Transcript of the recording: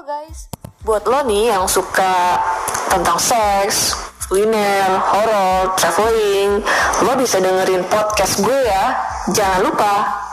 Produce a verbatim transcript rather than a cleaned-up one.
guys. Buat lo nih yang suka tentang seks, kuliner, horor, traveling, lo bisa dengerin podcast gue ya. Jangan lupa